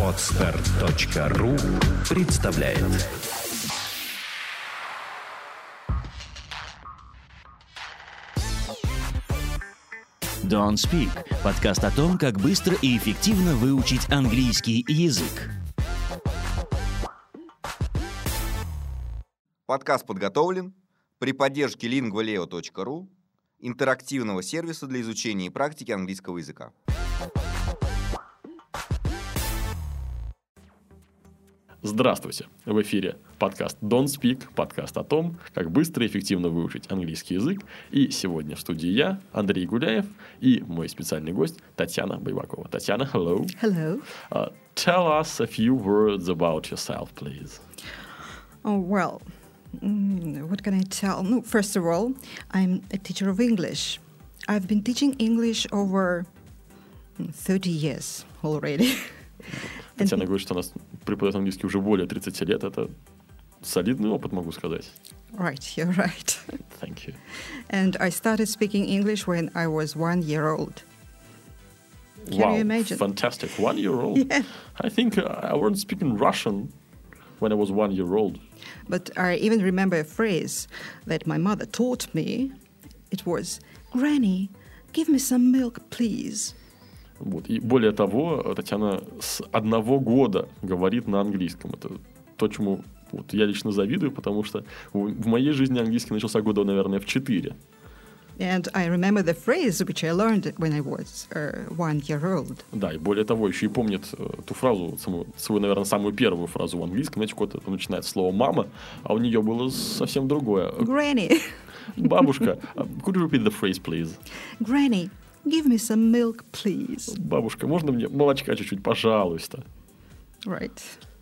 Podster.ru представляет. Don't Speak – подкаст о том, как быстро и эффективно выучить английский язык. Подкаст подготовлен при поддержке lingvaleo.ru, интерактивного сервиса для изучения и практики английского языка. Здравствуйте! В эфире подкаст Don't Speak, подкаст о том, как быстро и эффективно выучить английский язык. И сегодня в студии я, Андрей Гуляев, и мой специальный гость Татьяна Байбакова. Татьяна, hello. Hello. Tell us a few words about yourself, please. Oh, well, what can I tell? No, first of all, I'm a teacher of English. I've been teaching English over 30 years already. Татьяна говорит, что она преподает английский уже более 30 лет. Это солидный опыт, могу сказать. Right, you're right. Thank you. And I started speaking English when I was 1 year old. Can you imagine? Fantastic. 1 year old? Yeah. I think I wasn't speaking Russian when I was 1 year old. But I even remember a phrase that my mother taught me. It was, "Granny, give me some milk, please." Вот. И более того, Татьяна с 1 года говорит на английском. Это то, чему вот я лично завидую, потому что в моей жизни английский начался года, наверное, в 4. And I remember the phrase which I learned when I was 1 year old. Да, и более того, еще и помнит ту фразу, свою, наверное, самую первую фразу в английском. Знаете, куда-то начинается слово «мама», а у нее было совсем другое. Granny. Бабушка, could you repeat the phrase, please? Granny, give me some milk, please. Бабушка, можно мне молочка чуть-чуть, пожалуйста? Right.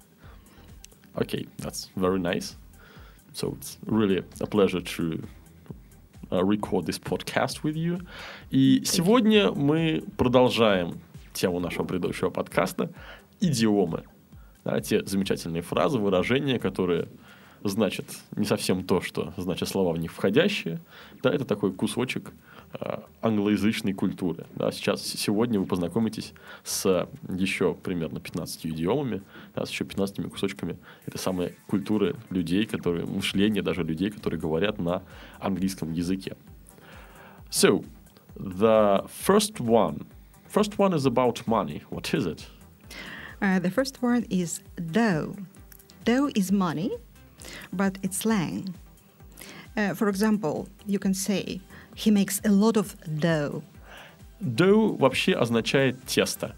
Okay, that's very nice. So it's really a pleasure to record this podcast with you. И сегодня мы продолжаем тему нашего предыдущего подкаста – идиомы. Да, те замечательные фразы, выражения, которые значат не совсем то, что значат слова в них входящие. Да, это такой кусочек англоязычной культуры. Да, сегодня вы познакомитесь с еще примерно 15 идиомами, да, с еще 15 кусочками этой самой культуры людей, которые, мышления даже людей, которые говорят на английском языке. So, the first one is about money. What is it? The first one is dough. Dough is money, but it's slang. For example, you can say, he makes a lot of dough. Dough вообще означает тесто.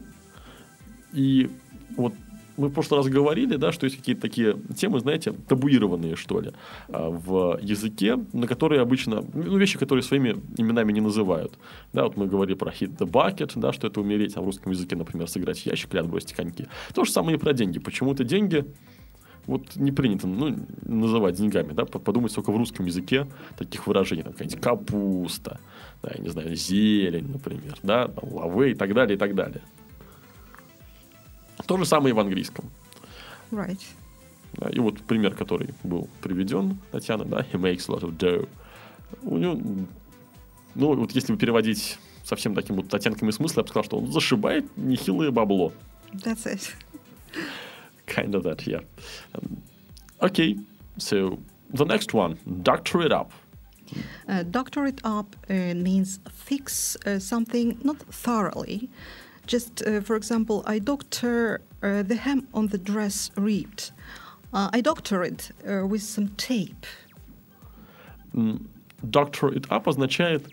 И вот мы в прошлый раз говорили, да, что есть какие-то такие темы, знаете, табуированные, что ли, в языке, на которые обычно, вещи, которые своими именами не называют. Да, вот мы говорили про hit the bucket, да, что это умереть, а в русском языке, например, сыграть в ящик или отбросить коньки. То же самое и про деньги. Почему-то деньги вот не принято называть деньгами, да, подумать только в русском языке таких выражений, там, какая-нибудь капуста, да, я не знаю, зелень, например, да, лавэ и так далее, и так далее. То же самое и в английском. Right. Да, и вот пример, который был приведен, Татьяна, да, he makes a lot of dough. У него, вот если бы переводить совсем таким вот оттенками смысла, я бы сказал, что он зашибает нехилое бабло. That's it. Kind of that, yeah. Okay, so the next one, doctor it up. Doctor it up means fix something not thoroughly. Just, for example, I doctor the hem on the dress ripped. I doctor it with some tape. Doctor it up означает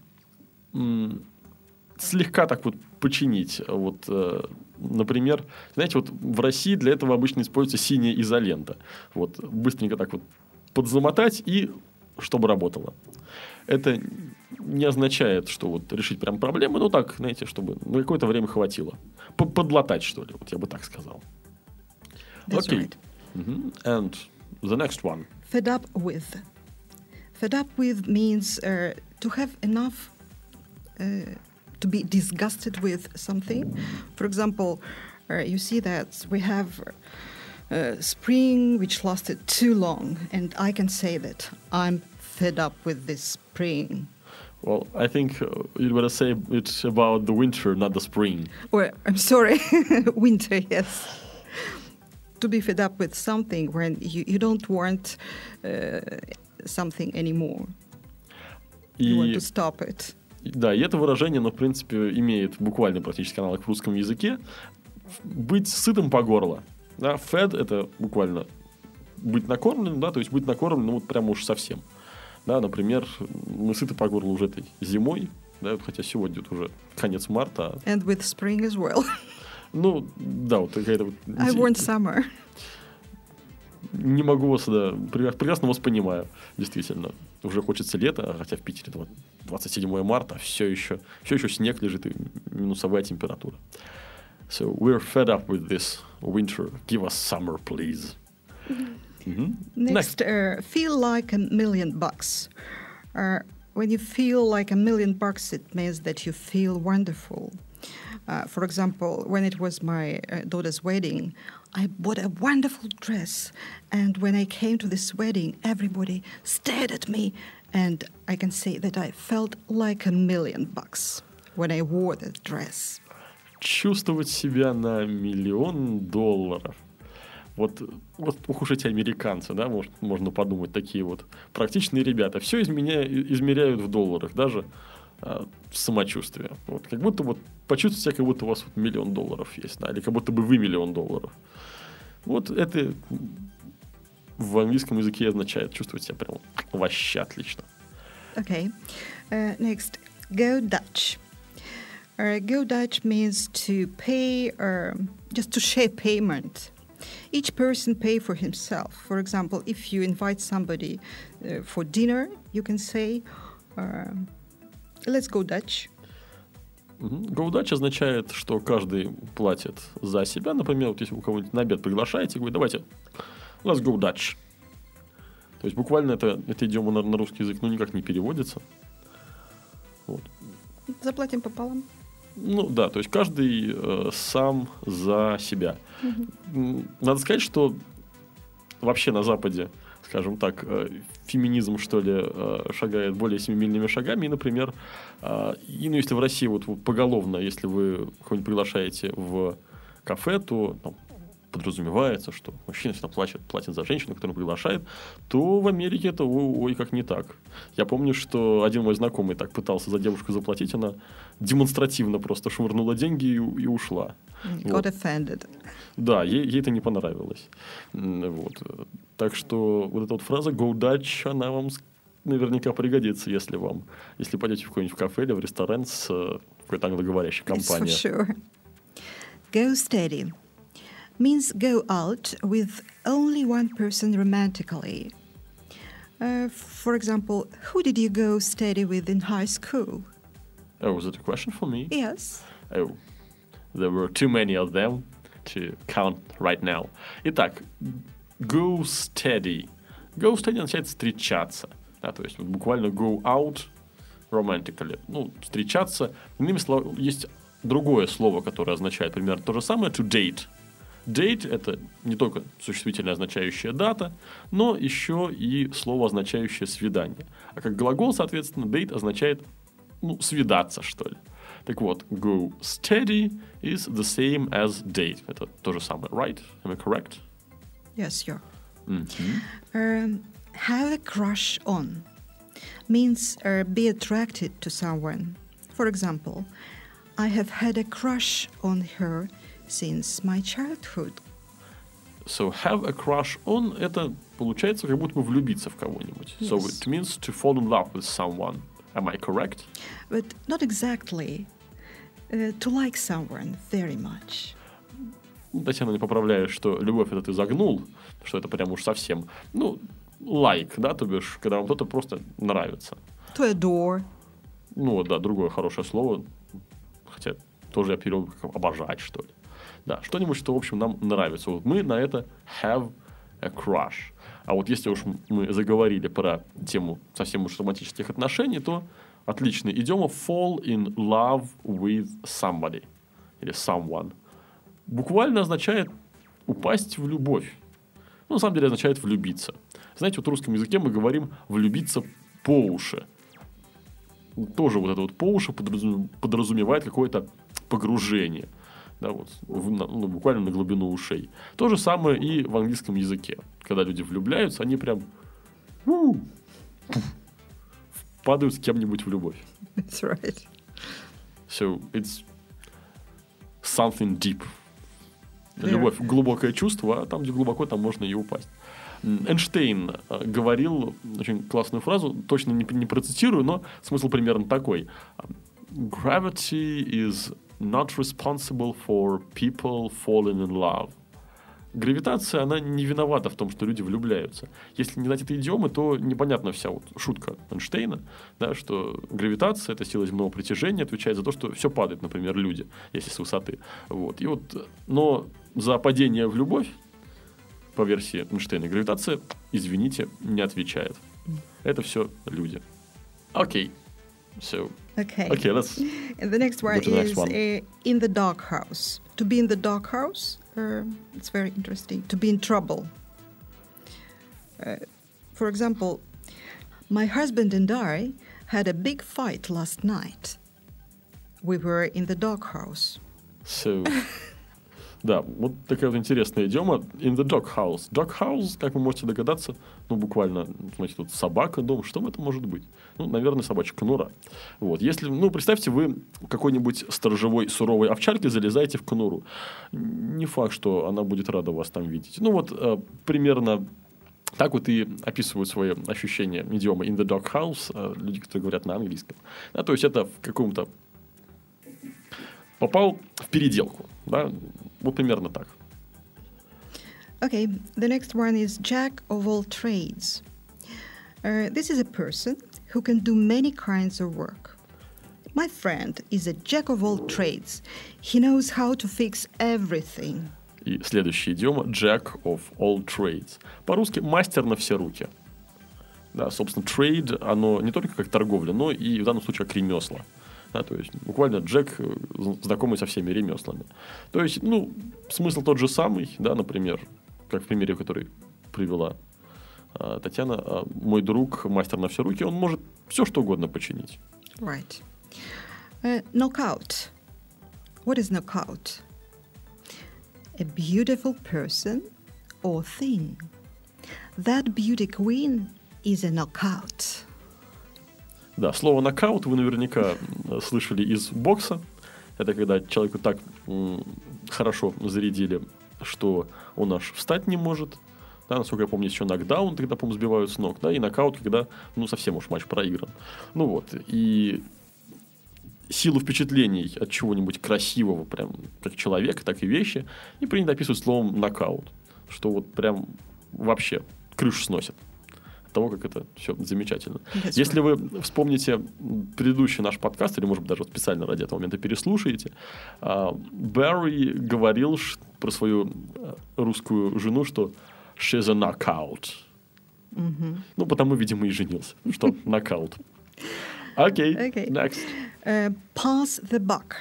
слегка так вот починить. Вот, например, знаете, вот в России для этого обычно используется синяя изолента. Вот, быстренько так вот подзамотать и чтобы работало. Это не означает, что вот решить прям проблемы, но так, знаете, чтобы на какое-то время хватило. Подлатать, что ли, вот я бы так сказал. That's Okay. right. And the next one. Fed up with. Fed up with means to have enough, to be disgusted with something. For example, you see that we have spring which lasted too long, and I can say that I'm fed up with this spring. Well, I think you'd better say it's about the winter, not the spring. Or, I'm sorry, winter, yes. To be fed up with something when you don't want something anymore. You want to stop it. Да, и это выражение, оно, в принципе, имеет буквально практически аналог в русском языке. Быть сытым по горло. Да, fed — это буквально быть накормленным, да, то есть быть накормленным вот прямо уж совсем. Да, например, мы сыты по горло уже этой зимой, да, хотя сегодня уже конец марта. And with spring as well. Ну, да, вот какая-то вот... I want summer. Не могу вас, да, прекрасно вас понимаю, действительно. Уже хочется лета, хотя в Питере 27 марта, все еще снег лежит и минусовая температура. So we're fed up with this winter. Give us summer, please. Next, feel like $1 million. When you feel like $1 million, it means that you feel wonderful. For example, when it was my daughter's wedding, I bought a wonderful dress. And when I came to this wedding, everybody stared at me. And I can say that I felt like $1 million when I wore that dress. Чувствовать себя на $1 миллион. Вот ух уж эти американцы, да, можно подумать, такие вот практичные ребята. Все измеряют в долларах, даже самочувствие. Вот, как будто вот почувствуйте себя, как будто у вас вот $1 миллион есть, да, или как будто бы вы $1 миллион. Вот это в английском языке означает чувствовать себя прям вообще отлично. Okay. Next, go Dutch. Go Dutch means to pay, just to share payment. Each person pay for himself. For example, if you invite somebody for dinner, you can say, let's go Dutch. Go Dutch означает, что каждый платит за себя. Например, вот если вы кого-нибудь на обед приглашаете, говорит, давайте, let's go Dutch. То есть буквально это идиома на русский язык никак не переводится. Вот. Заплатим пополам. Ну да, то есть каждый сам за себя. Надо сказать, что вообще на Западе, скажем так, феминизм, что ли, шагает более семимильными шагами. И, например, если в России вот поголовно, если вы кого-нибудь приглашаете в кафе, то подразумевается, что мужчина всегда платит за женщину, которую приглашает, то в Америке это ой как не так. Я помню, что один мой знакомый так пытался за девушку заплатить, она демонстративно просто швырнула деньги и ушла. Got offended. Да, ей это не понравилось. Вот. Так что вот эта вот фраза «Go Dutch», она вам наверняка пригодится, если пойдете в какой-нибудь кафе или в ресторан с какой-то англоговорящей компанией. Yes, for sure. Go steady means go out with only one person romantically. For example, who did you go steady with in high school? Oh, was it a question for me? Yes. Oh, there were too many of them to count right now. Итак, go steady. Go steady означает встречаться. Да, то есть вот буквально go out romantically. Ну, встречаться. Иными словами, есть другое слово, которое означает примерно то же самое, to date. Date — это не только существительное, означающее дата, но еще и слово, означающее свидание. А как глагол, соответственно, date означает свидаться, что ли. Так вот, go steady is the same as date. Это то же самое, right? Am I correct? Yes, you're. Have a crush on means be attracted to someone. For example, I have had a crush on her since my childhood. So have a crush on — это получается как будто бы влюбиться в кого-нибудь. Yes. So it means to fall in love with someone. Am I correct? But not exactly. To like someone very much. Татьяна не поправляет, что любовь — это ты загнул, что это прям уж совсем. Like, да, то бишь, когда вам кто-то просто нравится. To adore. Да, другое хорошее слово. Хотя тоже я перевел как обожать, что ли. Да, что-нибудь, что, в общем, нам нравится. Вот мы на это have a crush. А вот если уж мы заговорили про тему совсем уж романтических отношений, то отличный идиома fall in love with somebody. Или someone. Буквально означает упасть в любовь. На самом деле означает влюбиться. Знаете, вот в русском языке мы говорим влюбиться по уши. тоже вот это вот по уши подразумевает какое-то погружение. Да, вот, буквально на глубину ушей. То же самое и в английском языке. Когда люди влюбляются, они прям падают с кем-нибудь в любовь. That's right. So it's something deep. Yeah. Любовь — глубокое чувство, а там, где глубоко, там можно и упасть. Эйнштейн говорил очень классную фразу, точно не процитирую, но смысл примерно такой. Gravity is not responsible for people falling in love. Гравитация, она не виновата в том, что люди влюбляются. Если не знать этой идиомы, то непонятна вся вот шутка Эйнштейна, да, что гравитация, это сила земного притяжения, отвечает за то, что все падает, например, люди, если с высоты. Вот. И вот, но за падение в любовь, по версии Эйнштейна, гравитация, извините, не отвечает. Это все люди. Окей. So, Okay. let's And the next one go to the next is one. In the doghouse. To be in the doghouse, it's very interesting. To be in trouble. For example, my husband and I had a big fight last night. We were in the doghouse. So, да, вот такая вот интересная идиома. In the doghouse. Doghouse, как вы можете догадаться, буквально, значит, тут собака, дом. Что это может быть? Наверное, собачья конура. Вот. Если, представьте, вы какой-нибудь сторожевой суровой овчаркой залезаете в конуру. Не факт, что она будет рада вас там видеть. Примерно так вот и описывают свои ощущения идиомы in the doghouse люди, которые говорят на английском. Да, то есть это в каком-то... Попал в переделку. Да? Вот примерно так. Okay, the next one is Jack of all trades. This is a person who can do many kinds of work. My friend is a jack of all trades. He knows how to fix everything. И следующая идиома Jack of all trades. По-русски мастер на все руки. Да, собственно, trade, оно не только как торговля, но и в данном случае как ремесла. Да, то есть буквально Джек знакомый со всеми ремеслами. То есть, смысл тот же самый, да, например, как в примере, который привела Татьяна, мой друг, мастер на все руки, он может все что угодно починить. Right. Knockout. What is knockout? A beautiful person or thing. That beauty queen is a knockout. Да, слово «нокаут» вы наверняка слышали из бокса. Это когда человеку так хорошо зарядили, что он аж встать не может. Да, насколько я помню, есть еще нокдаун, когда, по-моему, сбивают с ног. Да, и нокаут, когда совсем уж матч проигран. И силу впечатлений от чего-нибудь красивого, прям как человека, так и вещи, и принято описывать словом «нокаут». Что вот прям вообще крышу сносит. Того, как это все замечательно. Если вы вспомните предыдущий наш подкаст, или, может быть, даже специально ради этого момента переслушаете, Барри говорил про свою русскую жену, что she's a knockout. Потому, видимо, и женился. Что нокаут. Окей, next. Pass the buck.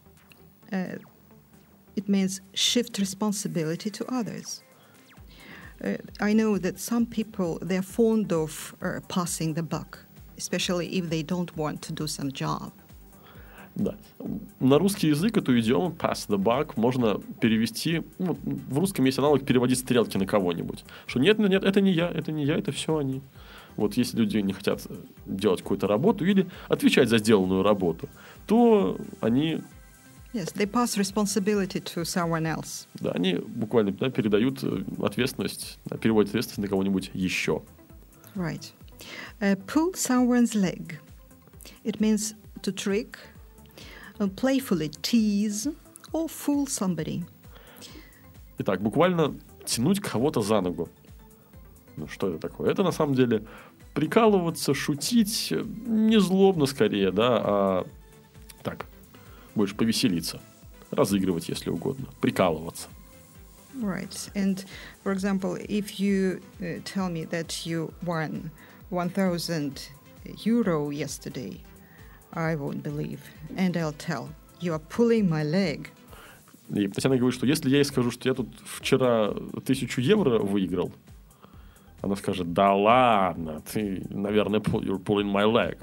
It means shift responsibility to others. I know that some people, they're fond of passing the buck, especially if they don't want to do some job. Да. На русский язык эту идиому pass the buck можно перевести... в русском есть аналог переводить стрелки на кого-нибудь. Что нет, это не я, это все они. Вот если люди не хотят делать какую-то работу или отвечать за сделанную работу, то они... Yes, they pass responsibility to someone else. Да, они буквально передают ответственность, переводят ответственность на кого-нибудь еще. Right. Pull someone's leg. It means to trick, playfully tease or fool somebody. Итак, буквально тянуть кого-то за ногу. Что это такое? Это на самом деле прикалываться, шутить, не злобно скорее, да, а так, больше повеселиться, разыгрывать, если угодно, прикалываться. Right. And, for example, if you tell me that you won 1,000 euro yesterday, I won't believe. And I'll tell, you are pulling my leg. И Татьяна говорит, что если я ей скажу, что я тут вчера 1000 евро выиграл, она скажет, да ладно, ты, наверное, you're pulling my leg.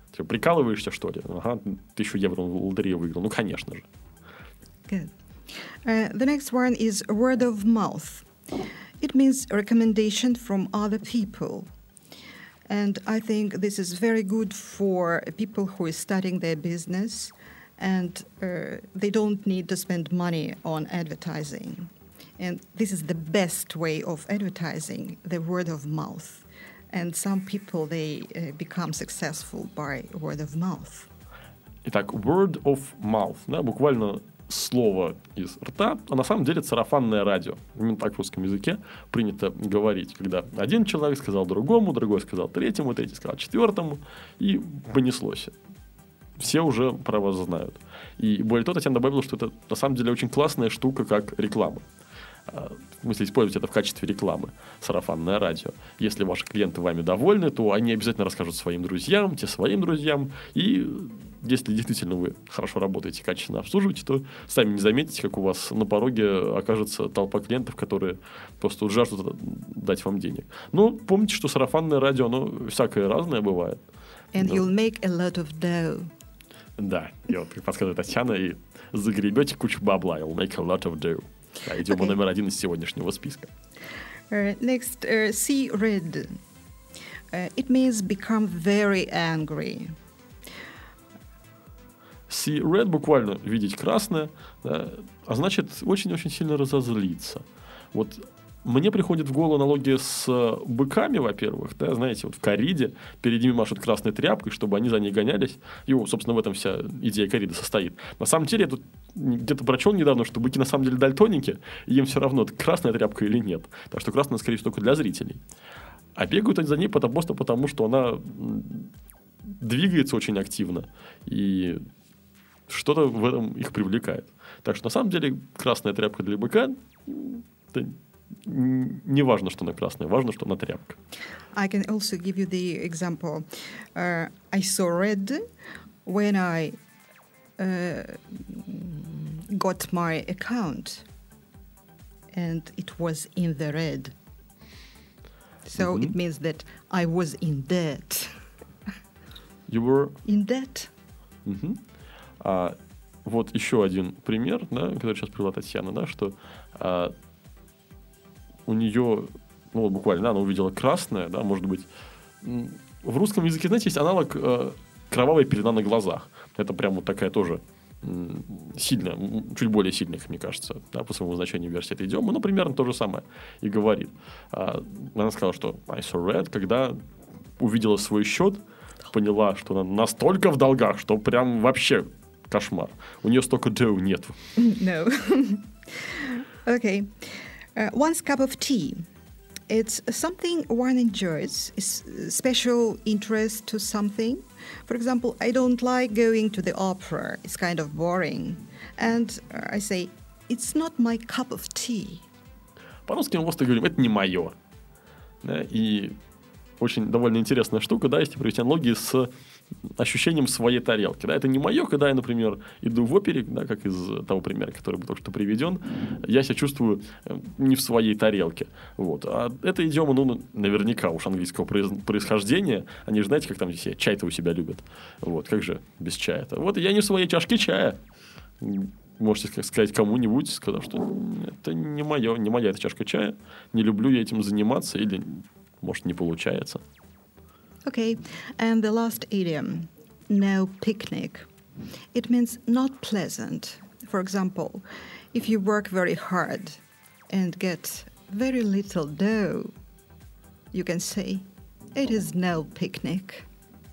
Ты прикалываешься, что ли? Ага, 1000 евро в лотерею выиграл. Ну, конечно же. Good. The next one is word of mouth. It means recommendation from other people. And I think this is very good for people who are starting their business and they don't need to spend money on advertising. And this is the best way of advertising, the word of mouth. And some people, they become successful by word of mouth. Итак, word of mouth, да, буквально слово из рта, а на самом деле сарафанное радио. Именно так в русском языке принято говорить, когда один человек сказал другому, другой сказал третьему, третий сказал четвертому, и понеслось. Все уже про вас знают. И более того, Татьяна добавила, что это на самом деле очень классная штука, как реклама. В смысле, использовать это в качестве рекламы, сарафанное радио. Если ваши клиенты вами довольны, то они обязательно расскажут своим друзьям, те своим друзьям. И если действительно вы хорошо работаете, качественно обслуживаете, то сами не заметите, как у вас на пороге окажется толпа клиентов, которые просто жаждут дать вам денег. Но помните, что сарафанное радио, оно всякое разное бывает. And you'll make a lot of dough. Да, и вот, как подсказывает Татьяна, и загребете кучу бабла. You'll make a lot of dough. Да, идем номер 1 из сегодняшнего списка. Next, see red. It means become very angry. See red буквально видеть красное, да, а значит очень-очень сильно разозлиться. Вот мне приходит в голову аналогия с быками, во-первых, да, знаете, вот в кориде перед ними машут красной тряпкой, чтобы они за ней гонялись. И, собственно, в этом вся идея кориды состоит. На самом деле, я тут где-то прочел недавно, что быки на самом деле дальтоники, и им все равно, красная тряпка или нет. Так что красная, скорее всего, только для зрителей. А бегают они за ней просто потому, что она двигается очень активно, и что-то в этом их привлекает. Так что, на самом деле, красная тряпка для быка не важно, что она красная, важно, что она тряпка. I can also give you the example. I saw red when I got my account, and it was in the red. So it means that I was in debt. You were in debt. Вот еще один пример, да, который сейчас привела Татьяна, да, что у нее, ну, буквально, она увидела красное, да, может быть. В русском языке, знаете, есть аналог кровавая пелена на глазах. Это прям вот такая тоже сильная, чуть более сильная, мне кажется, да, по своему значению версия этой идиомы, но примерно то же самое и говорит. Она сказала, что I saw red, когда увидела свой счет, поняла, что она настолько в долгах, что прям вообще кошмар. У нее столько dough нет. No. Okay. One's cup of tea. It's something one enjoys, is special interest to something. For example, I don't like going to the opera. It's kind of boring. And I say, it's not my cup of tea. По-русски мы просто говорим, это не мое. Да, и очень довольно интересная штука, да, если провести аналогии с ощущением своей тарелки. Да, это не мое, когда я, например, иду в опере, да, как из того примера, который был только что приведен, я себя чувствую не в своей тарелке. Вот. А эта идиома, ну, наверняка уж английского происхождения. Они же, знаете, как там все чай-то у себя любят. Вот. Как же без чая-то? Вот я не в своей чашке чая. Можете сказать кому-нибудь, сказав, что это не моя эта чашка чая, не люблю я этим заниматься, или, может, не получается. Okay, and the last idiom, no picnic. It means not pleasant. For example, if you work very hard and get very little dough, you can say, it is no picnic.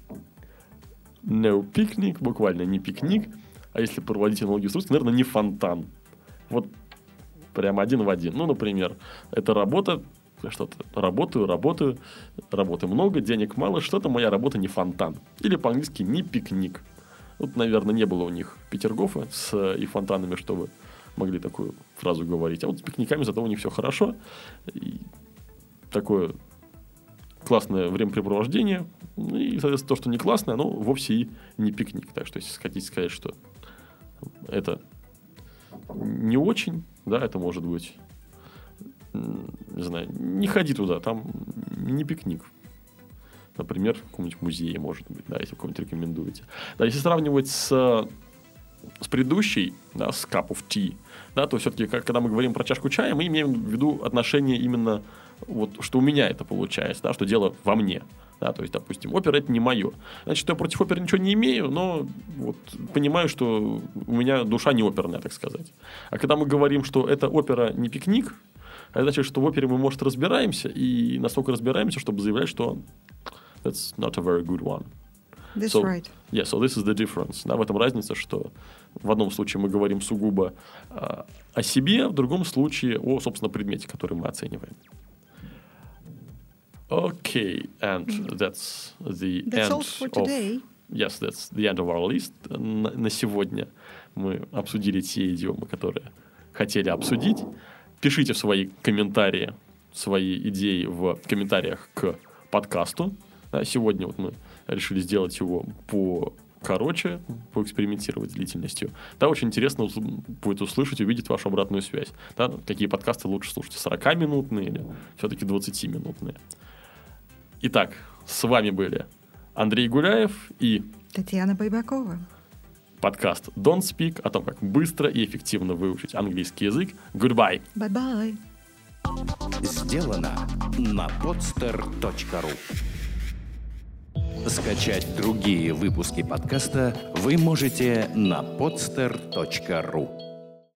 No picnic, буквально не пикник, а если проводить аналогию с русским, наверное, не фонтан. Вот прям один в один. Ну, например, это работа, что-то работаю много, денег мало, что-то моя работа не фонтан. Или по-английски не пикник. Вот, наверное, не было у них Петергофа и фонтанами, чтобы могли такую фразу говорить. А вот с пикниками зато у них все хорошо. И такое классное времяпрепровождение. И, соответственно, то, что не классное, оно вовсе и не пикник. Так что, если хотите сказать, что это не очень, да, это может быть, не знаю, не ходи туда, там не пикник. Например, в каком-нибудь музее, может быть, да, если вы кого-нибудь рекомендуете. Да, если сравнивать с предыдущей, да, с cup of tea, да, то все-таки, когда мы говорим про чашку чая, мы имеем в виду отношение именно, вот, что у меня это получается, да, что дело во мне. Да, то есть, допустим, опера — это не мое. Значит, я против оперы ничего не имею, но вот понимаю, что у меня душа не оперная, так сказать. А когда мы говорим, что эта опера не пикник, это значит, что в опере мы, может, разбираемся, и настолько разбираемся, чтобы заявлять, что that's not a very good one. That's so, right. Yeah, so this is the difference. Да, в этом разница, что в одном случае мы говорим сугубо о себе, в другом случае о, собственно, предмете, который мы оцениваем. Okay, and that's the end all for today. Yes, that's the end of our list. На сегодня мы обсудили те идиомы, которые хотели обсудить. Пишите свои комментарии, свои идеи в комментариях к подкасту. Сегодня вот мы решили сделать его покороче, поэкспериментировать с длительностью. Да, очень интересно будет услышать, увидеть вашу обратную связь. Да, какие подкасты лучше слушать, 40-минутные или все-таки 20-минутные. Итак, с вами были Андрей Гуляев и Татьяна Байбакова. Подкаст Don't Speak о том, как быстро и эффективно выучить английский язык. Goodbye. Bye-bye. Сделано на podster.ru. Скачать другие выпуски подкаста вы можете на podster.ru.